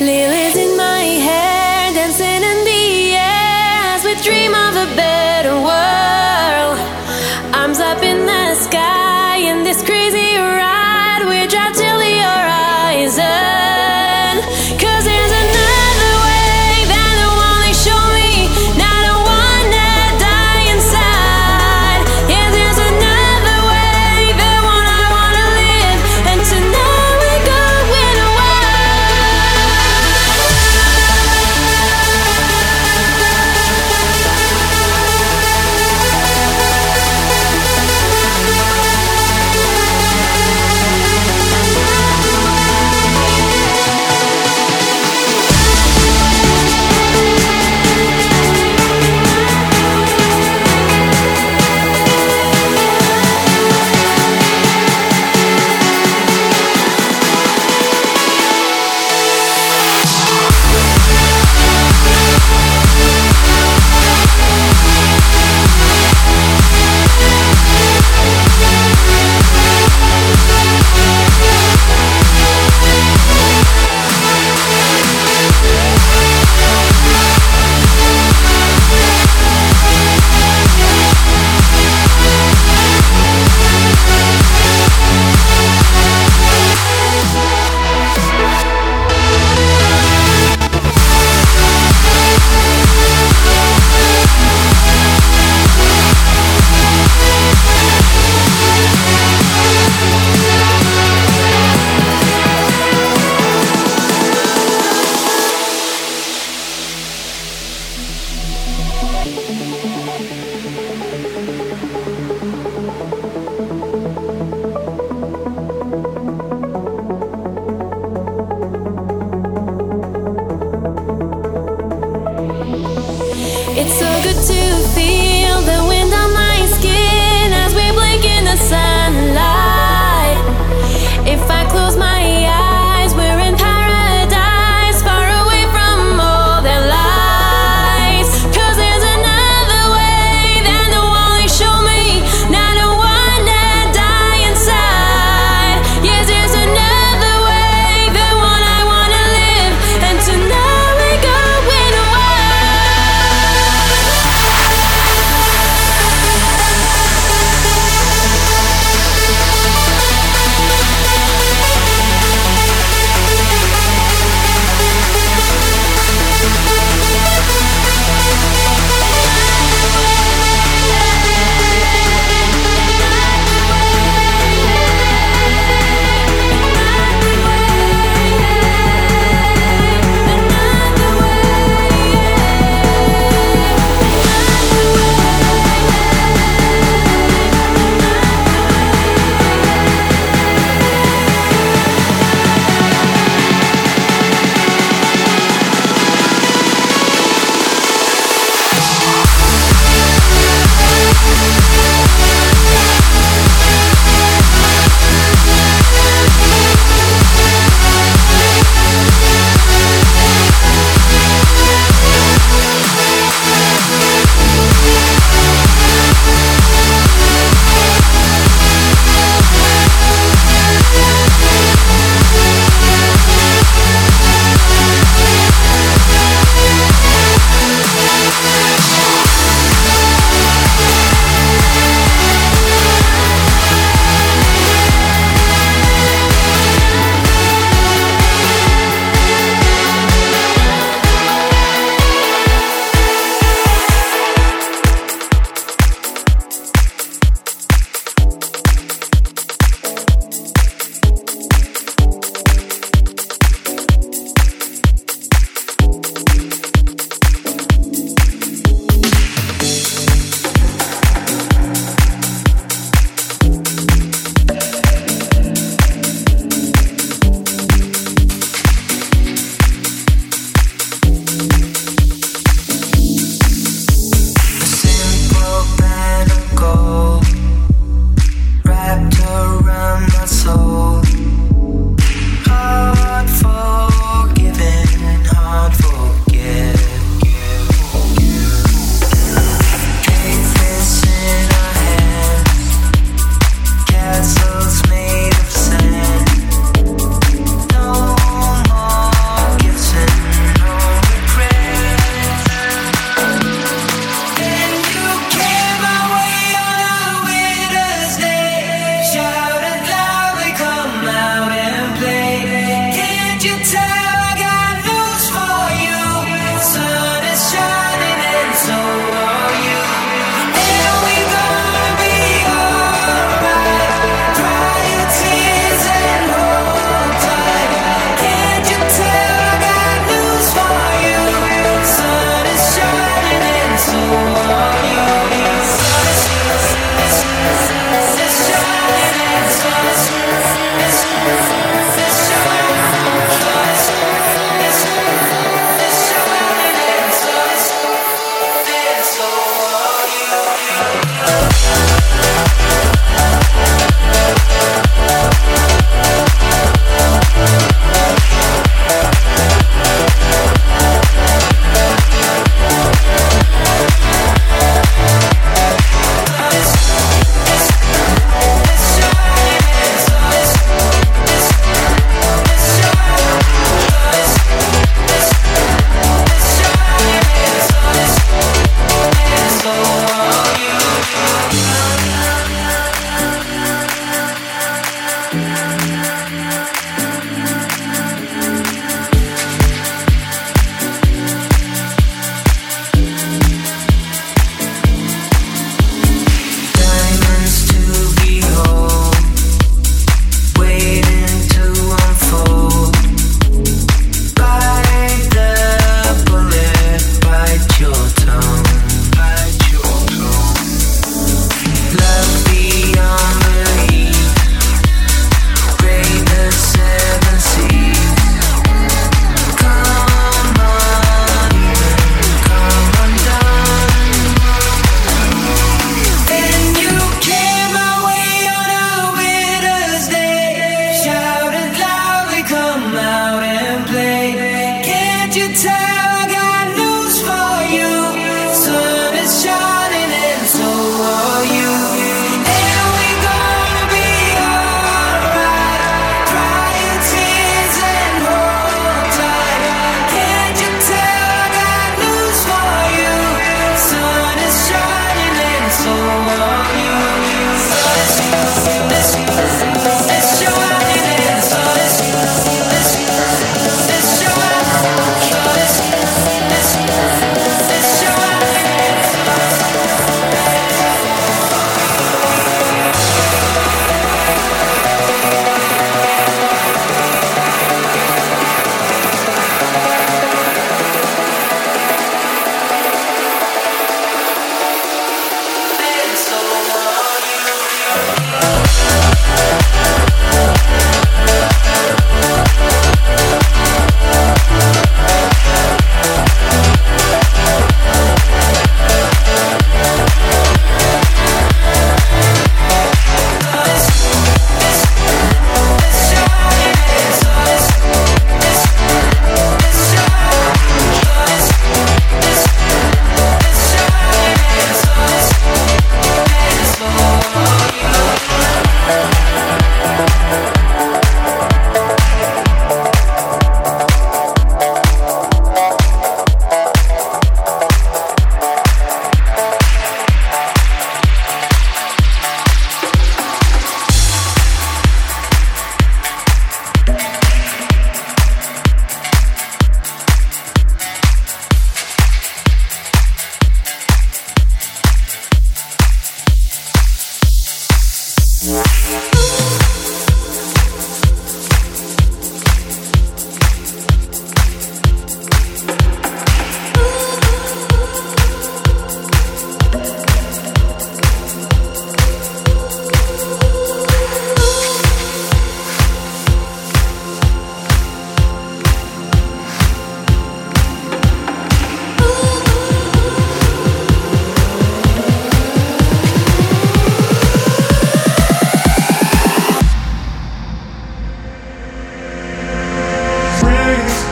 Lilies in my hair, dancing in the air as we dream of a better world. Arms up in the sky in this crazy ride. We drive till the horizon. 'Cause there's another way than the one they show me. Not the one that die inside. Yeah, there's another way, the one I wanna live. And tonight we're going away. It's so good to feel the wind on my skin as we blink in the sunlight. If I close my eyes, we're in paradise, far away from all their lies. 'Cause there's another way than the one they show me. Not the one that die inside. Yes, there's another way, the one I wanna live. And tonight we're going away.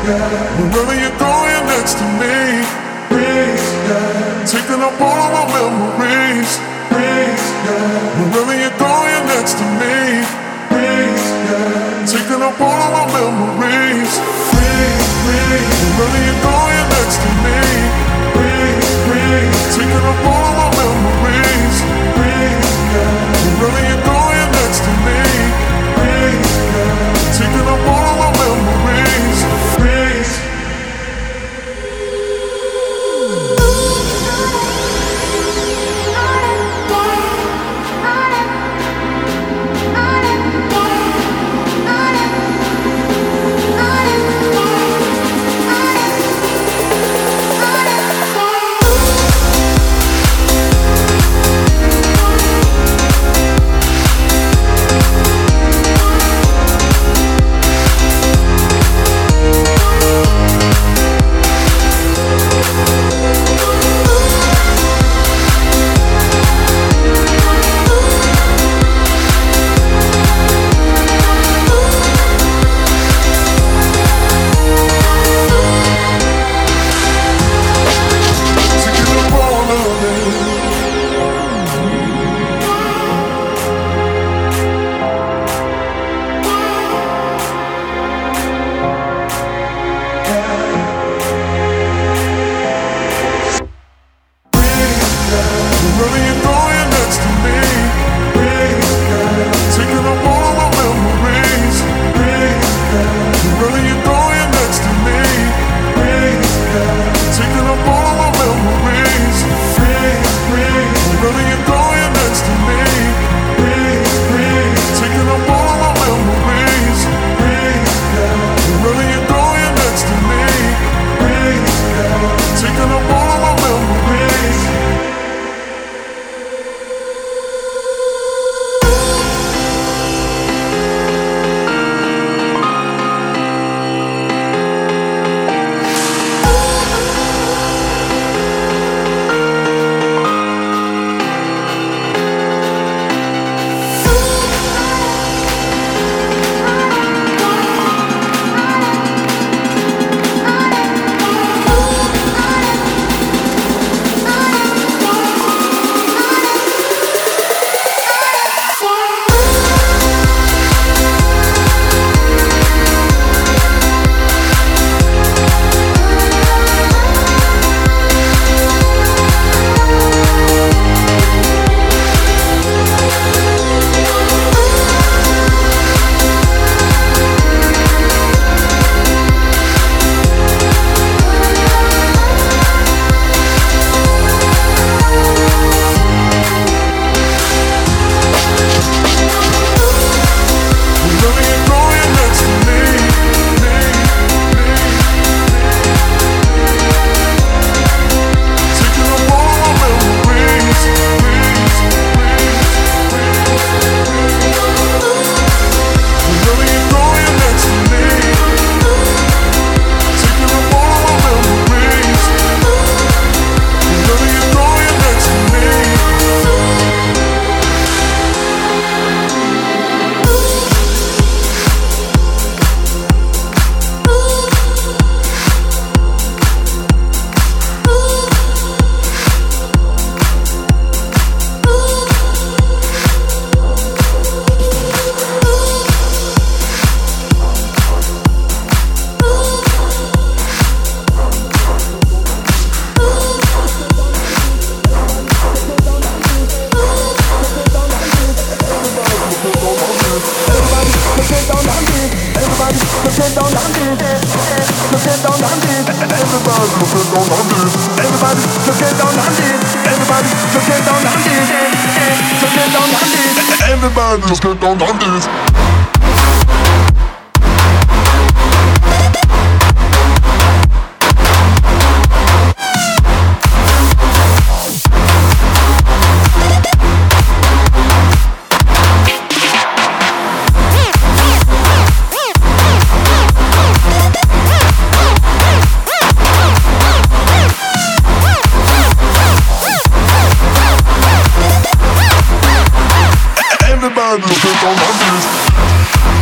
Wherever you go, you're next to me. Taking up all of my memories. Wherever you go, you're next to me. Taking up all of my memories. Wherever you go, you're next to me. Taking up all of my memories. Wherever you go, you're next to me. Taking up all of my memories. Everybody just get down on this. Everybody just get down on this.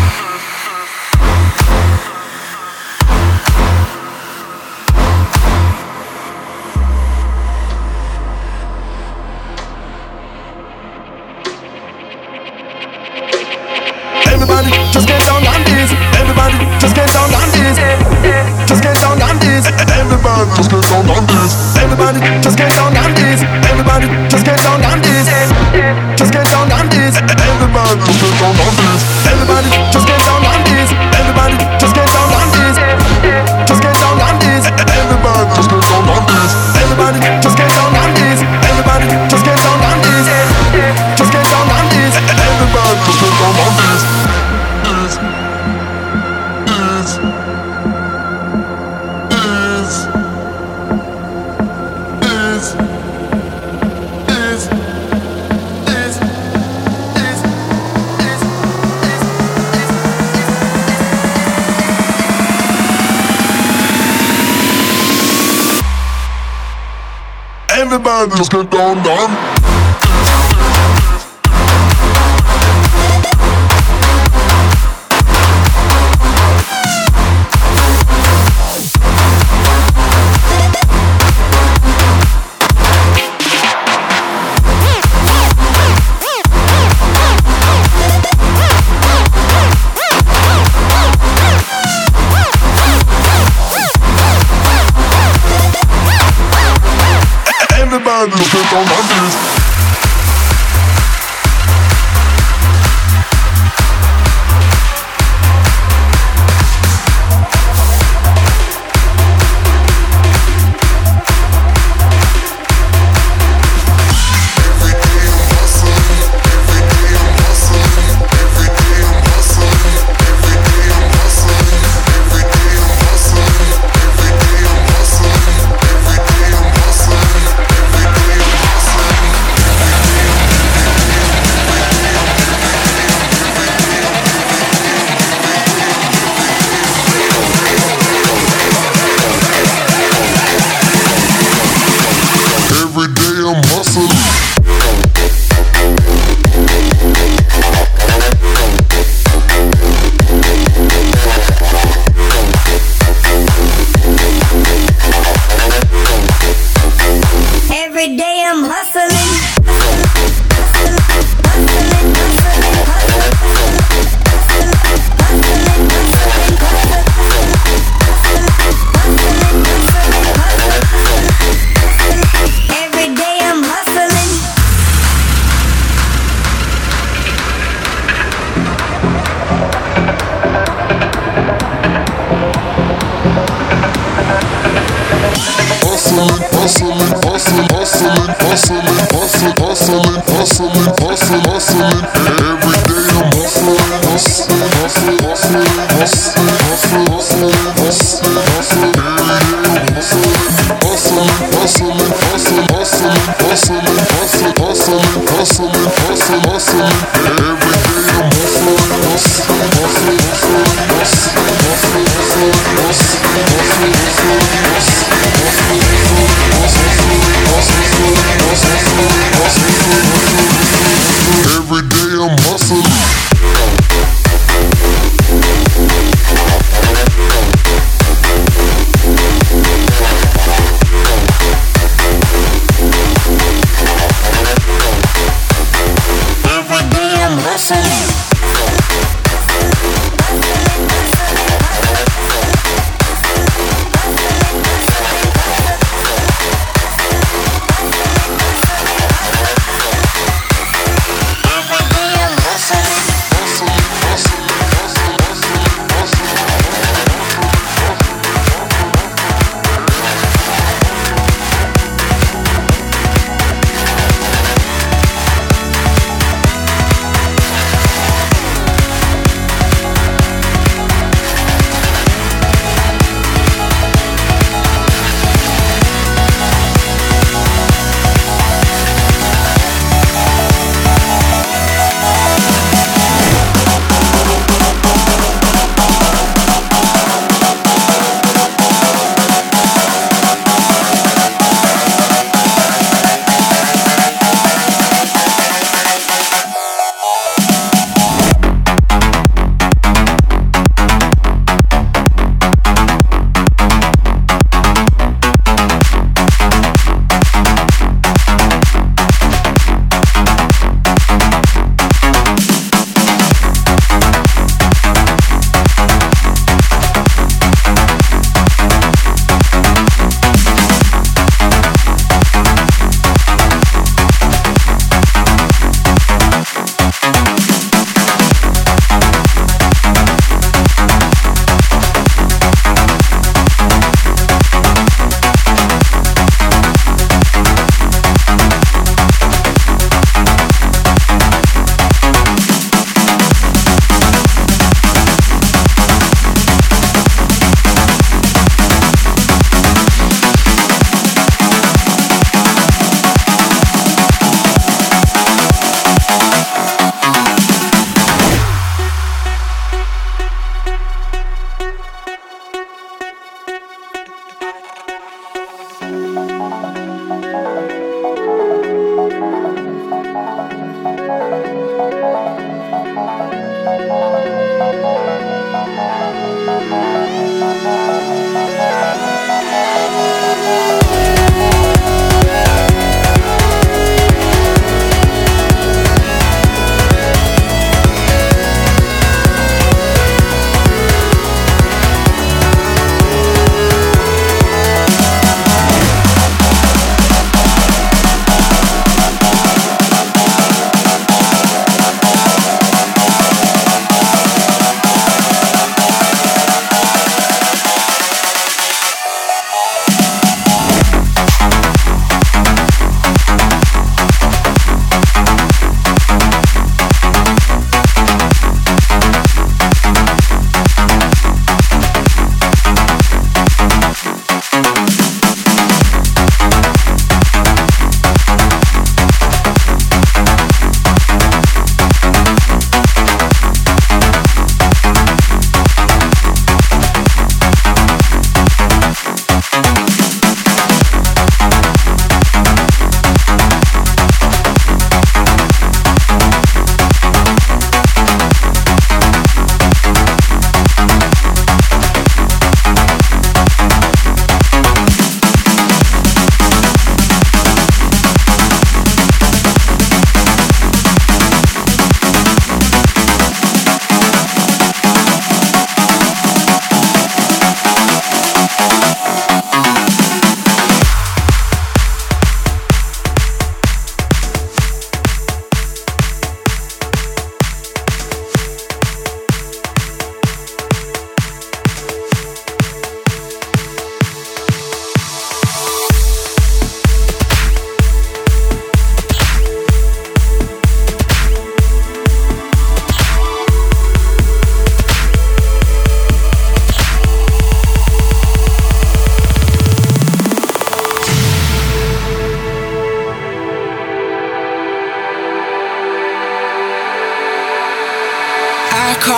Everybody just get down, down. Everybody just get down on this.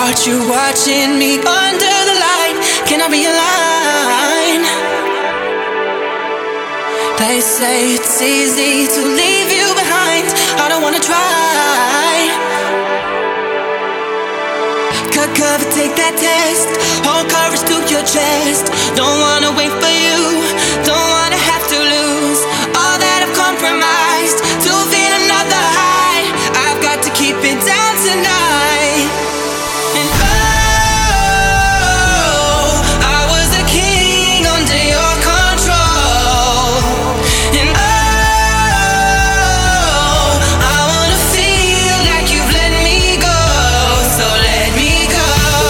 caught you watching me under the light. Can I realign? They say it's easy to leave you behind. I don't wanna try. Cut cover, take that test. Hold courage to your chest. Don't wanna wait for you. Don't wanna have to lose all that I've compromised to feel another high. I've got to keep it down tonight. And oh, I was a king under your control. And oh, I wanna feel like you've let me go. So let me go.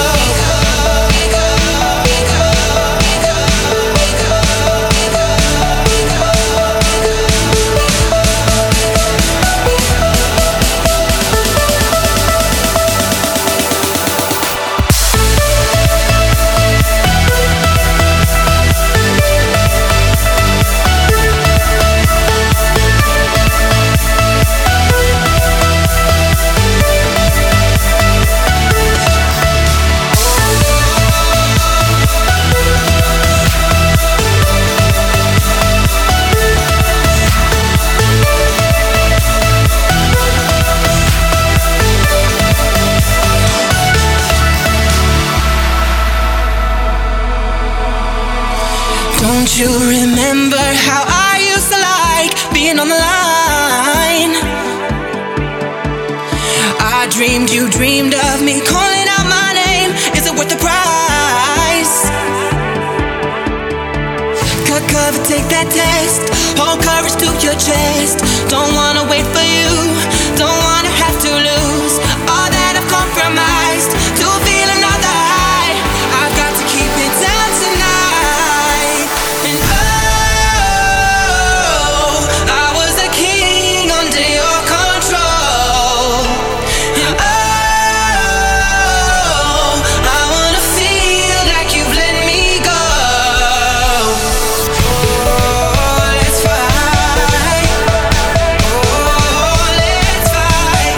Don't you remember how I used to like being on the line? I dreamed you dreamed of me calling out my name. Is it worth the price? Cut cover, take that test. Hold courage to your chest. Don't wanna wait for you. Don't wanna have to lose all that I've compromised to feel another high. I've got to keep it down tonight. And oh, I was a king under your control. And oh, I wanna feel like you've let me go. Oh, let's fight. Oh, let's fight.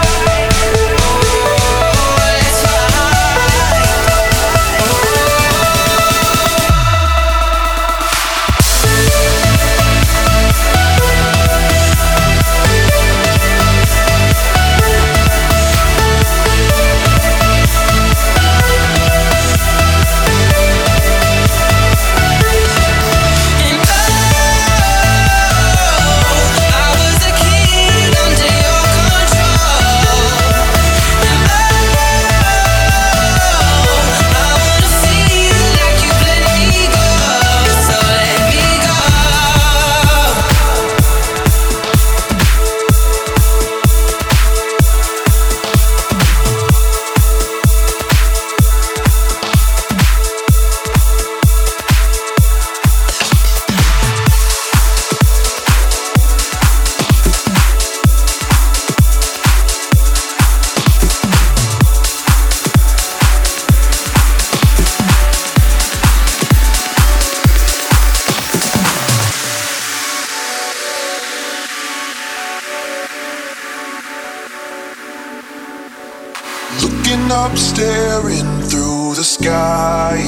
Looking up, staring through the sky,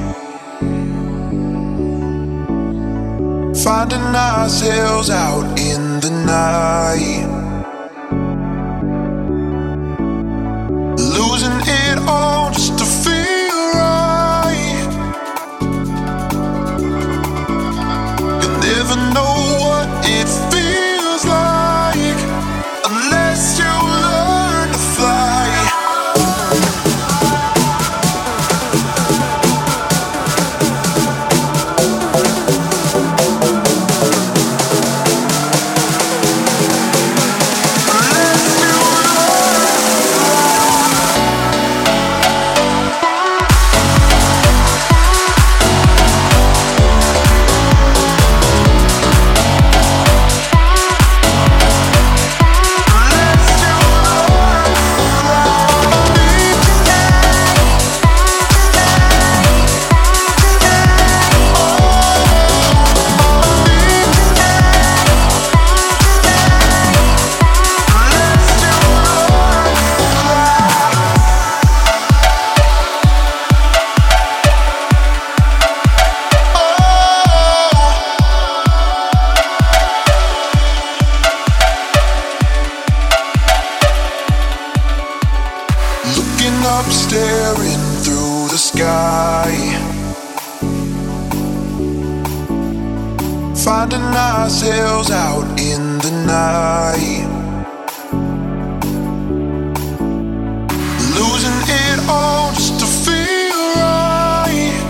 finding ourselves out in the night, losing it all just to feel right. You never know what it feels like unless you learn to fly. sky, finding ourselves out in the night, losing it all just to feel right.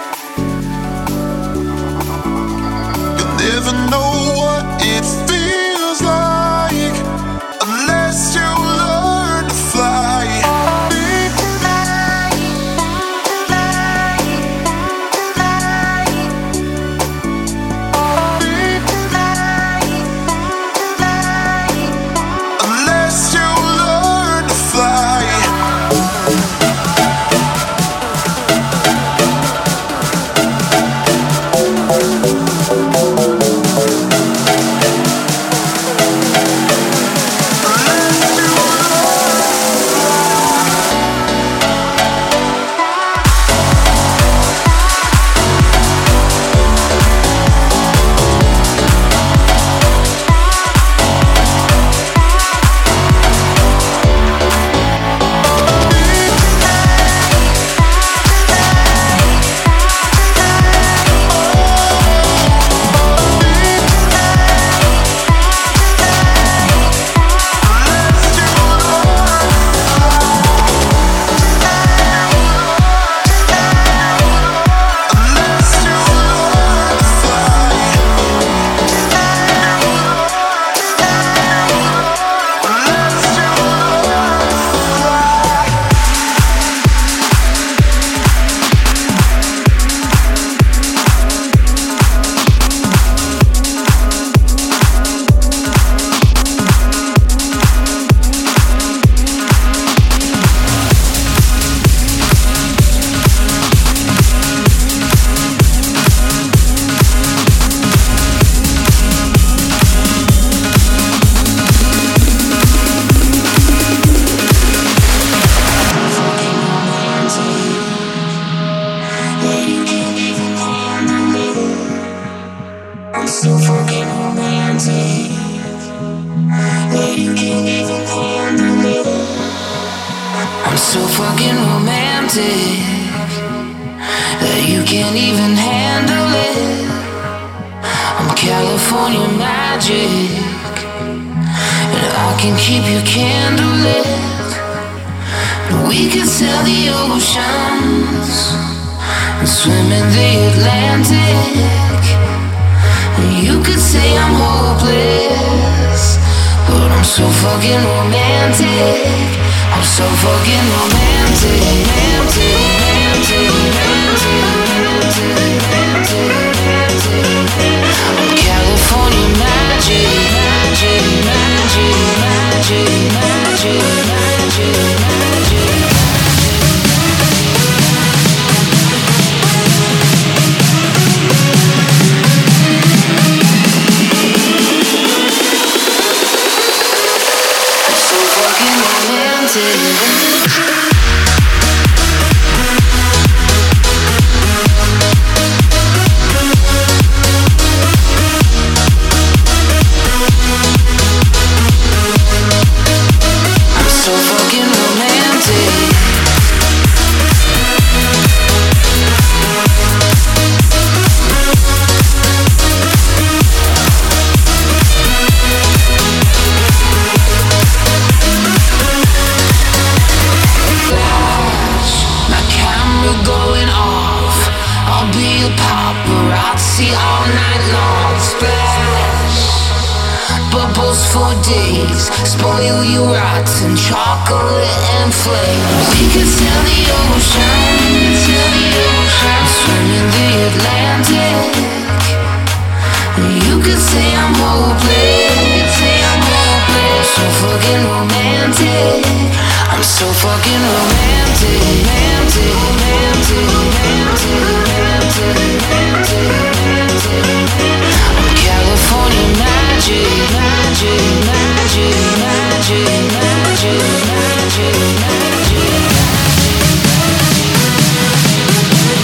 You never know what it feels like unless you learn to fly. Magic.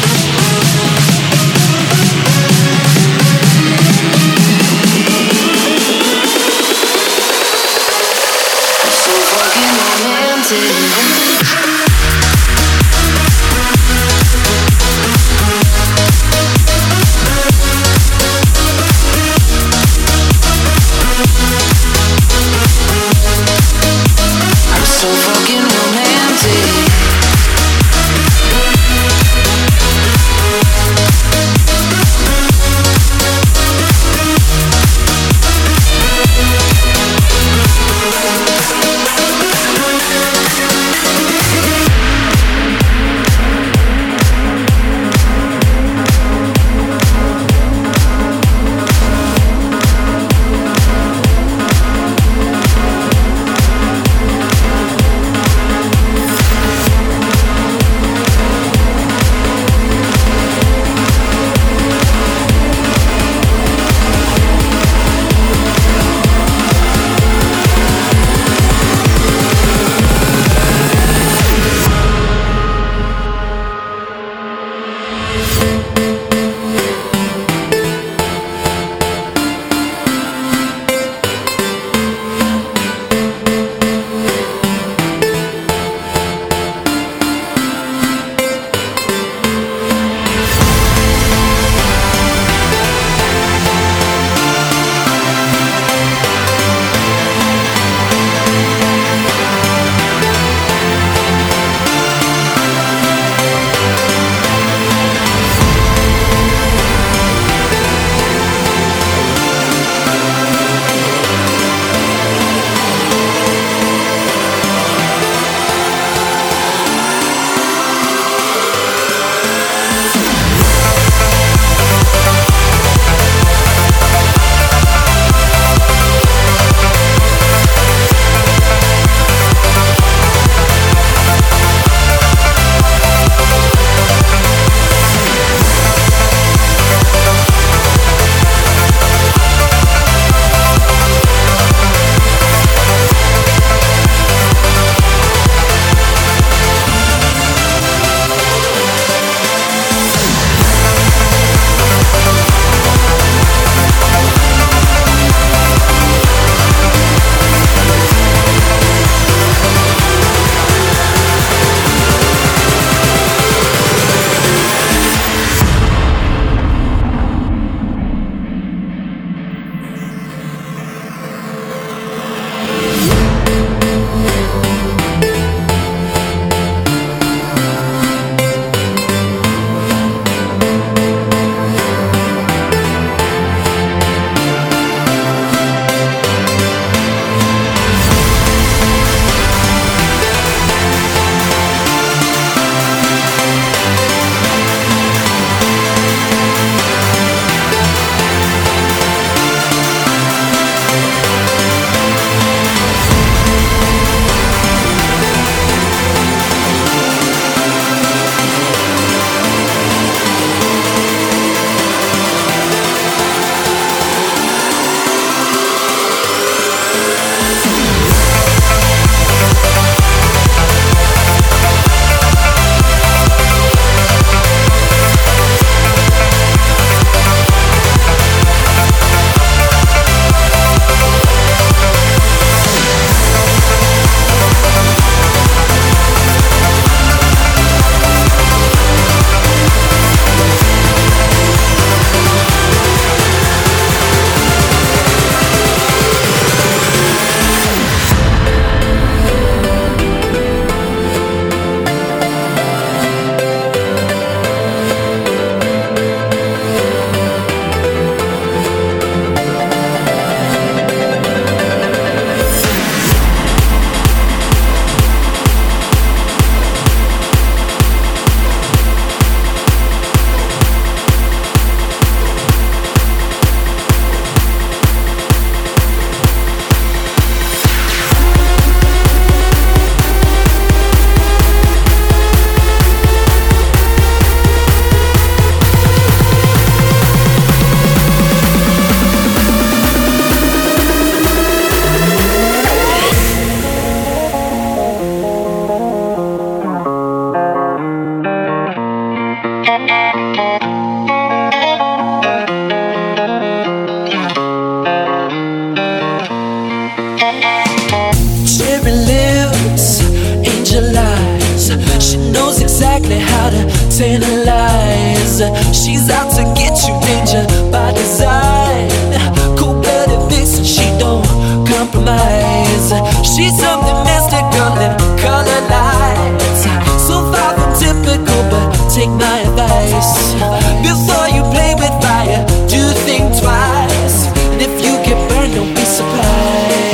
Cherry lips, angel eyes. She knows exactly how to tantalize. She's out to get you, danger by design. Cold-blooded vixen, she don't compromise. She's something mystical in color lights. So far from typical, but take my advice. Before you play with fire, do think twice. And if you get burned, don't be surprised.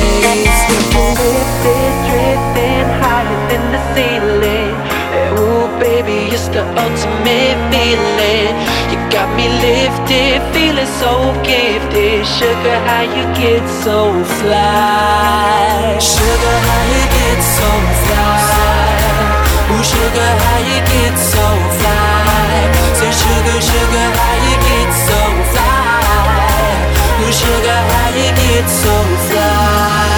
Drifting higher than the ceiling. Ooh, baby, it's the ultimate feeling. You got me lifted, feeling so gifted. Sugar, how you get so fly? Sugar, how you get so fly? Ooh, sugar, how you get so fly? Say, sugar, sugar, how you get so fly? Ooh, sugar, how you get so fly?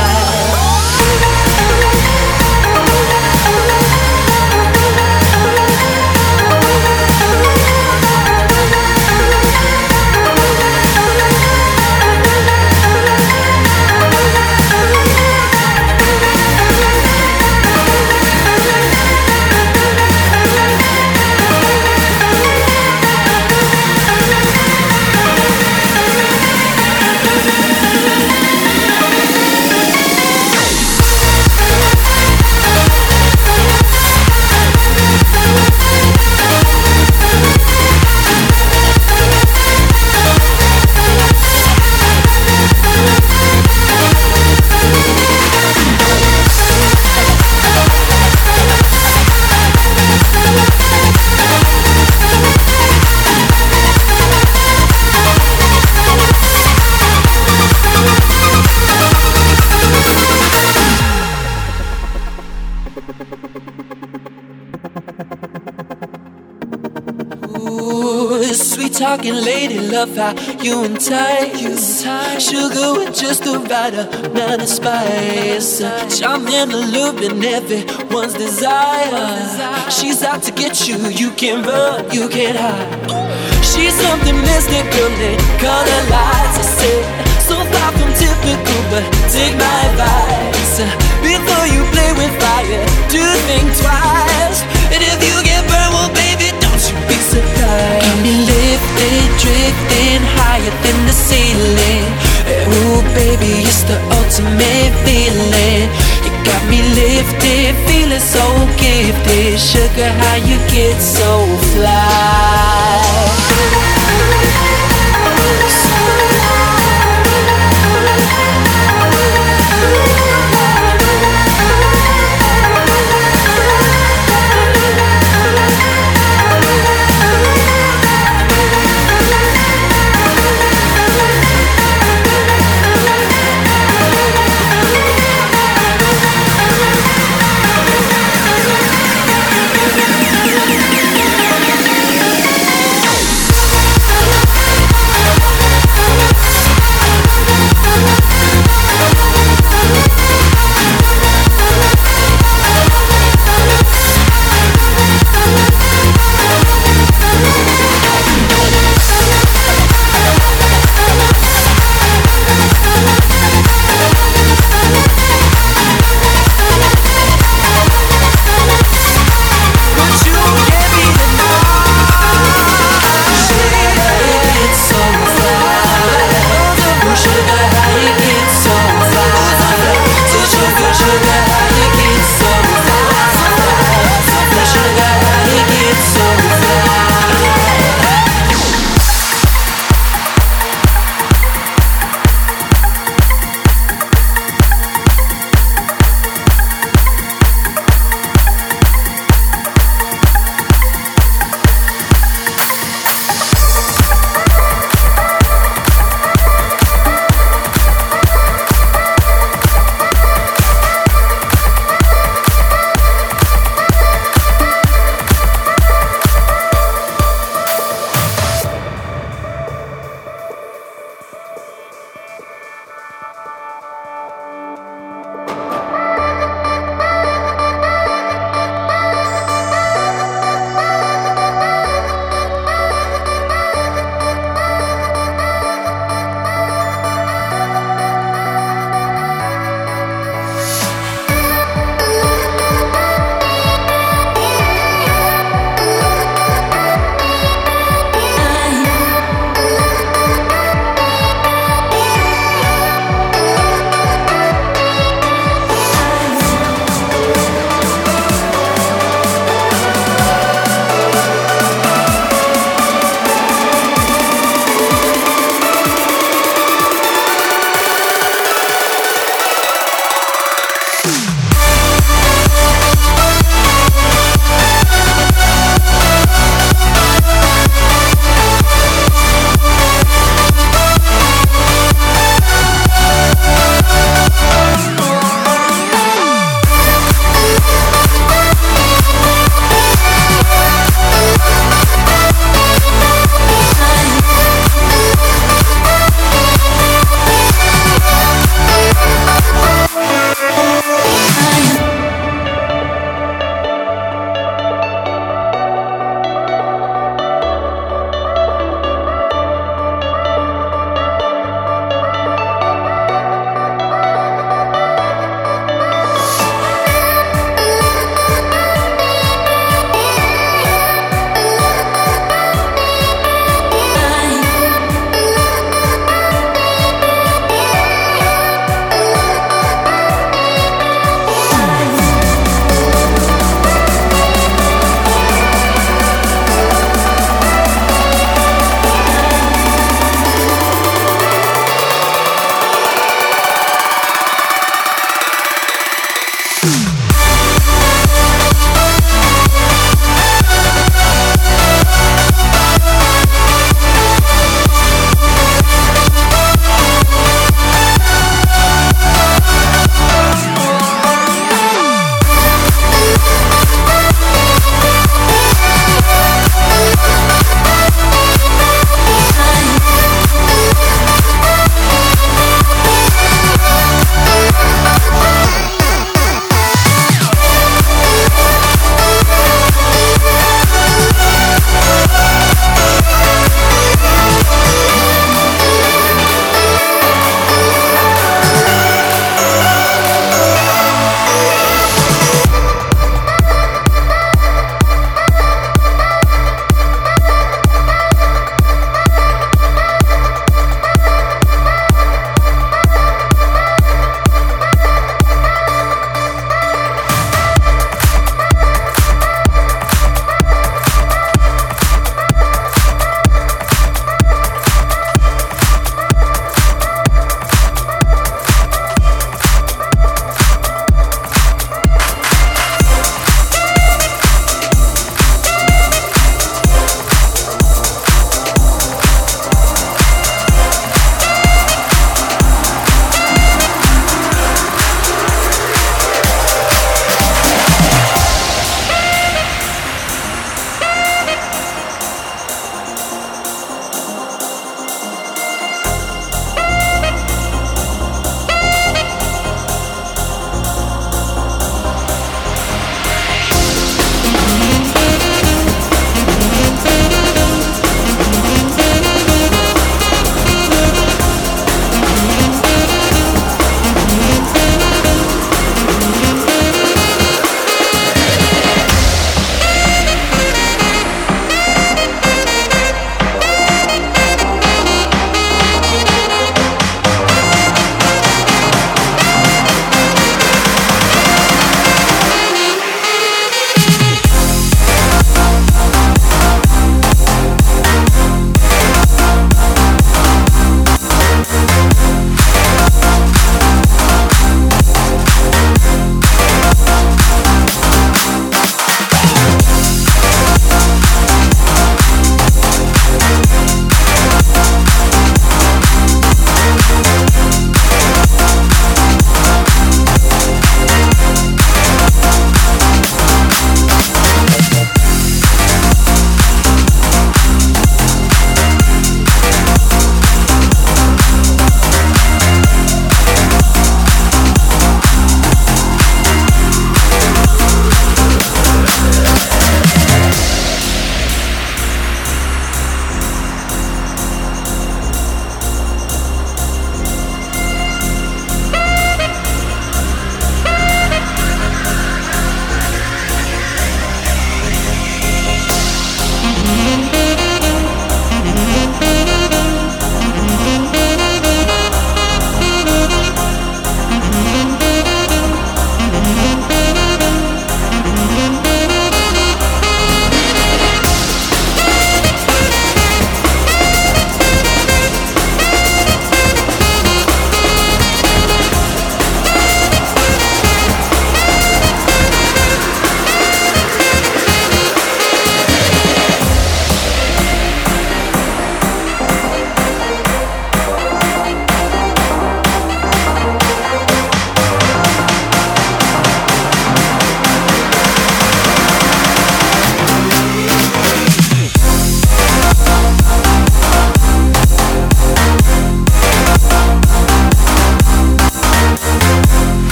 Talking lady, love how you entice. Sugar with just the right amount of spice. Charm and allure everyone's desire. She's out to get you, you can't run, you can't hide. She's something mystical in color lights. I say, so far from typical, but take my advice. Before you play with fire, do think twice. And if you get burned, well baby, don't you be surprised. Got me lifted, drifting higher than the ceiling. Ooh baby, it's the ultimate feeling. You got me lifted, feeling so gifted. Sugar, how you get so fly?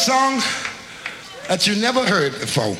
song that you never heard before.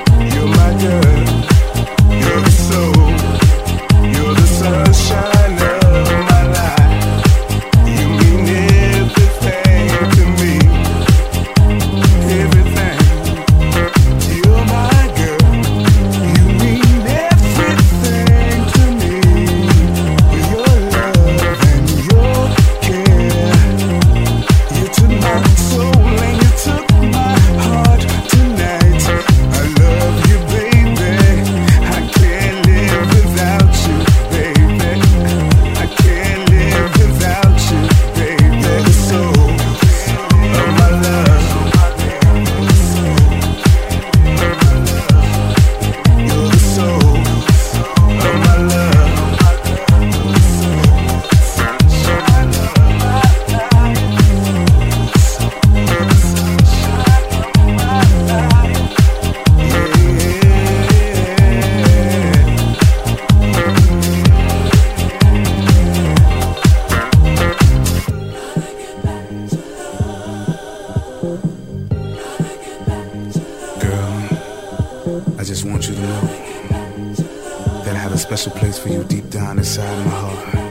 You're the sunshine. just want you to know that I have a special place for you deep down inside my heart.